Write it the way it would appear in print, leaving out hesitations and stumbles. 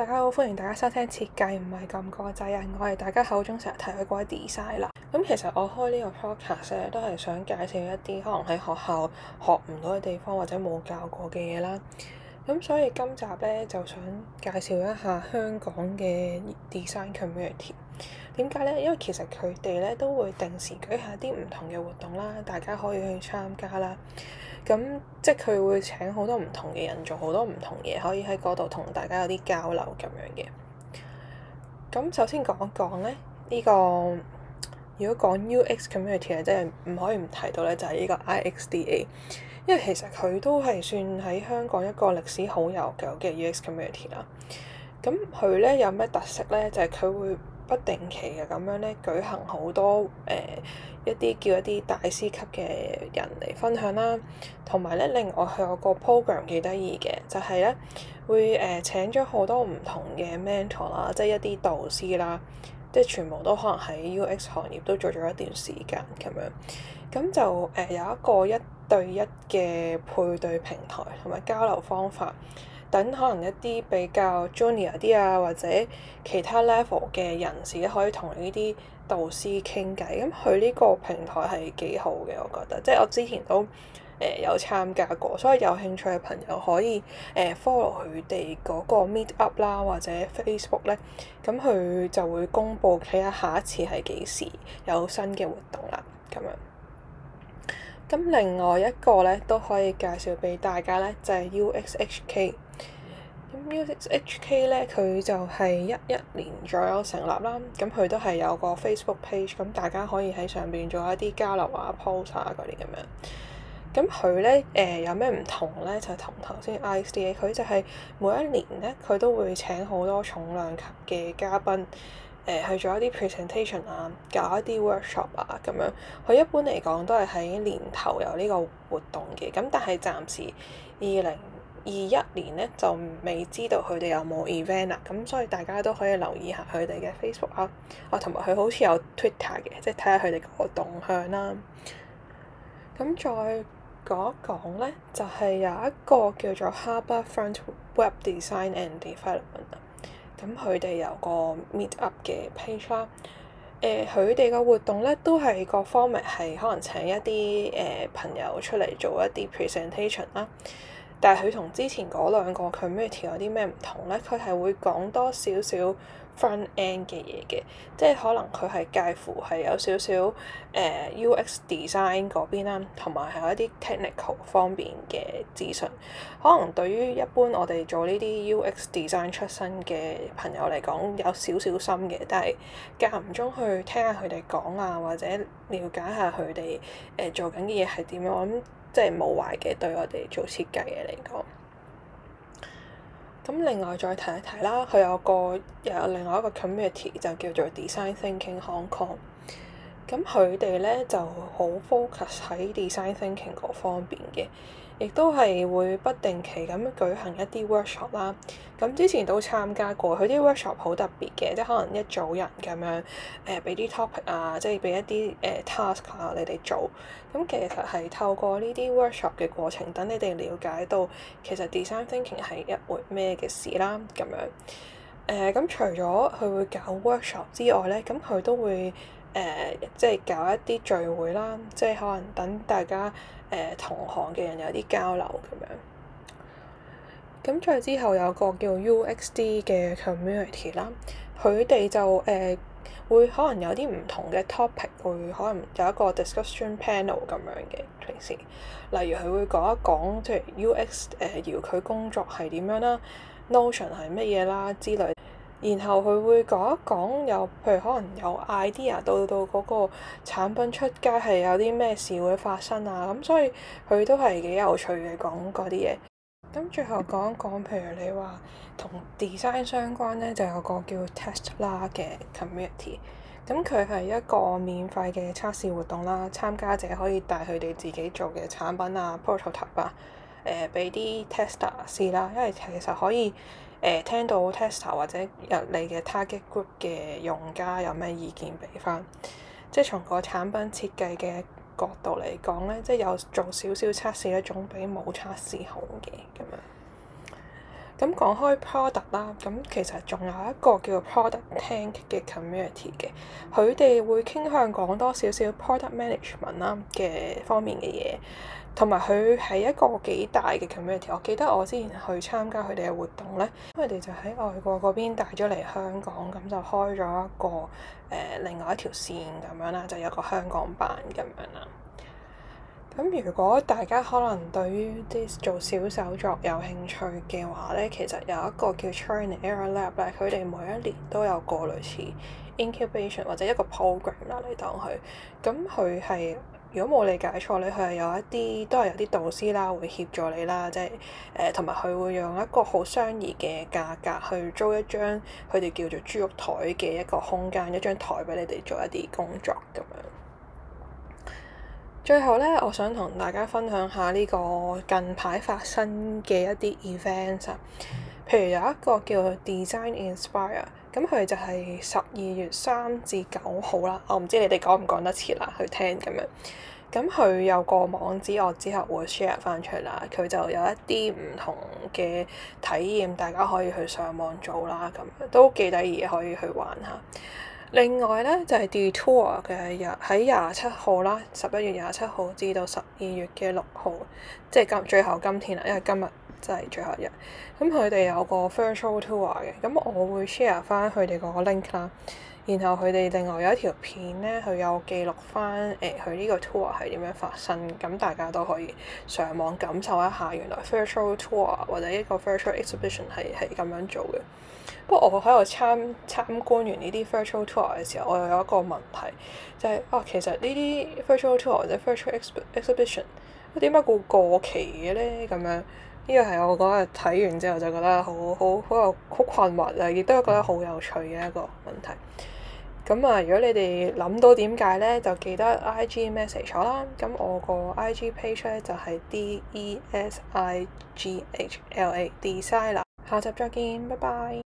大家好，歡迎大家收聽設計唔係咁個仔啊！我係大家口中成日提嘅嗰位 design 啦。咁其實我開呢個 podcast 咧，都係想介紹一啲可能喺學校學唔到嘅地方或者冇教過嘅嘢啦。咁所以今集咧就想介紹一下香港嘅 design community。點解咧？因為其實佢哋咧都會定時舉行一啲唔同嘅活動啦，大家可以去參加啦。咁即係佢會請好多唔同嘅人做好多唔同嘢，可以喺嗰度同大家有啲交流咁樣嘅。咁首先講一講咧，呢個如果講 UX community 咧，即係唔可以唔提到咧，就係呢個 IXDA，因為其實佢都係算喺香港一個歷史好悠久嘅 UX community 啦。咁佢咧有咩特色咧？就係佢會不定期嘅咁樣咧舉行好多一啲大師級嘅人嚟分享啦，同埋咧另外佢有個 program 幾得意嘅，就係咧會請咗好多唔同嘅 mentor 啦，即係一啲導師啦，即係全部都可能喺 UX 行業都做咗一段時間咁樣，咁就有一個一對一嘅配對平台同埋交流方法。等可能一啲比較 junior 啲啊，或者其他 level 嘅人士咧，可以同呢啲導師傾偈。咁佢呢個平台係幾好嘅，我覺得。即係我之前都有參加過，所以有興趣嘅朋友可以follow 佢哋嗰個 meet up 啦，或者 Facebook 咧，咁佢就會公佈睇下下一次係幾時有新嘅活動啦，咁樣。咁另外一個咧都可以介紹俾大家咧，就係 UXHK。咁 UXHK 咧，佢就係11年左右成立啦。咁佢都係有個 Facebook page，咁大家可以喺上邊做一啲交流啊、post 啊嗰啲咁樣。咁佢咧有咩唔同咧？就同頭先 IXDA，佢就係每一年咧，佢都會請好多重量級嘅嘉賓。去做一啲 presentation 啊，搞一啲 workshop 啊咁樣。佢一般嚟講都係喺年頭有呢個活動嘅，咁但係暫時2021年咧就未知道佢哋有冇 event 啦，咁所以大家都可以留意下佢哋嘅 Facebook 啊，同埋佢好似有 Twitter 嘅，即係睇下佢哋個動向啦。咁再講一講咧，就係有一個叫做 Harbourfront Web Design and Development。咁佢哋有個 meet up 嘅 page 啦，佢哋個活動咧都係各方面係可能請一啲朋友出嚟做一啲 presentation 啦，但係佢同之前嗰兩個 community 有啲咩唔同咧？佢係會講多少少 front end 嘅嘢嘅，即係可能佢係介乎係有少少UX design 嗰邊啦，同埋係一啲 technical 方面嘅資訊。可能對於一般我哋做呢啲 UX design 出身嘅朋友嚟講，有少少深嘅，但係間唔中去聽下佢哋講啊，或者了解下佢哋做緊嘅嘢係點樣，我諗即係冇壞嘅，對我哋做設計嘅嚟講。咁另外再提一提啦，佢又有另外一個 community 就叫做 Design Thinking Hong Kong。咁佢哋咧就好 focus 喺 design thinking 嗰方面嘅，亦都係會不定期咁舉行一啲 workshop 啦。咁之前都參加過，佢啲 workshop 好特別嘅，即係可能一組人咁樣俾啲 topic 啊，即係俾一啲task 啊你哋做。咁其實係透過呢啲 workshop 嘅過程，等你哋了解到其實 design thinking 係一回咩嘅事啦，咁樣。咁除咗佢會搞 workshop 之外咧，咁佢都會即係搞一啲聚會啦，即係可能等大家同行嘅人有啲交流咁樣。咁再之後有個叫 UXD 嘅 community 啦，佢哋就會可能有啲唔同嘅 topic，會可能有一個 discussion panel 咁樣嘅平時。例如佢會講一講即係 UX 遙距工作係點樣啦，Notion 係乜嘢啦之類。然後佢會講一講譬如可能有 idea 到嗰個產品出街係有啲咩事會發生啊，咁所以佢都係幾有趣嘅講嗰啲嘢。咁最後講一講，譬如你話同 design 相關咧，就有個叫 Testla 嘅 community。咁佢係一個免費嘅測試活動啦，參加者可以帶佢哋自己做嘅產品啊 prototype 啊，俾啲 tester 試啦，因為其實可以聽到 tester 或者入你嘅 target group 嘅用家有咩意見俾翻，即係從個產品設計嘅角度嚟講咧，即係有做少少測試咧，總比冇測試好嘅咁樣。 咁講開 product 啦，咁其實仲有一個叫做 product tank 嘅 community 嘅，佢哋會傾向講多少少 product management 啦嘅方面嘅嘢，同埋佢係一個幾大嘅 community。我記得我之前去參加佢哋嘅活動咧，佢哋就喺外國嗰邊帶咗嚟香港，咁就開咗一個另外一條線咁樣啦，就有個香港版咁樣啦。咁如果大家可能對於啲做小手作有興趣嘅話咧，其實有一個叫 Trial and Error Lab 咧，佢哋每一年都有個類似 incubation 或者一個 program 啦，你當佢。咁佢係如果冇理解錯咧，佢係有一啲都係有啲導師啦，會協助你啦，即係同埋佢會用一個好相宜嘅價格去租一張佢哋叫做豬肉台嘅一個空間，一張台俾你哋做一啲工作咁樣。最後咧，我想同大家分享下呢個近排發生嘅一啲 events 啊。譬如有一個叫 Design Inspire，咁佢就係12月3至9號啦。我唔知你哋講唔講得切啦，去聽咁樣。咁佢有個網址，我之後會 share 翻出嚟啦。佢就有一啲唔同嘅體驗，大家可以去上網做啦，咁樣都幾得意，可以去玩下。另外咧就係 Detour 嘅喺27號啦，11月27號至到12月嘅6號，即係最後今天啦，因為今日真係最後一日。咁佢哋有個 virtual tour 嘅，咁我會 share 翻佢哋個 link 啦。然後佢哋另外有一條片咧，佢有記錄翻佢呢個 tour 係點樣發生，咁大家都可以上網感受一下，原來 virtual tour 或者一個 virtual exhibition 係咁樣做嘅。不過我喺度參觀完呢啲 virtual tour 嘅時候，我又有一個問題，就係其實呢啲 virtual tour 或者 virtual exhibition 點解會過期嘅咧？咁樣呢個係我嗰日睇完之後就覺得好困惑啊，亦都覺得好有趣嘅一個問題。咁啊，如果你哋諗到點解咧，就記得 IG message 我啦。咁我個 IG page 咧就係 DESIGHLA Designer。下集再見，拜拜。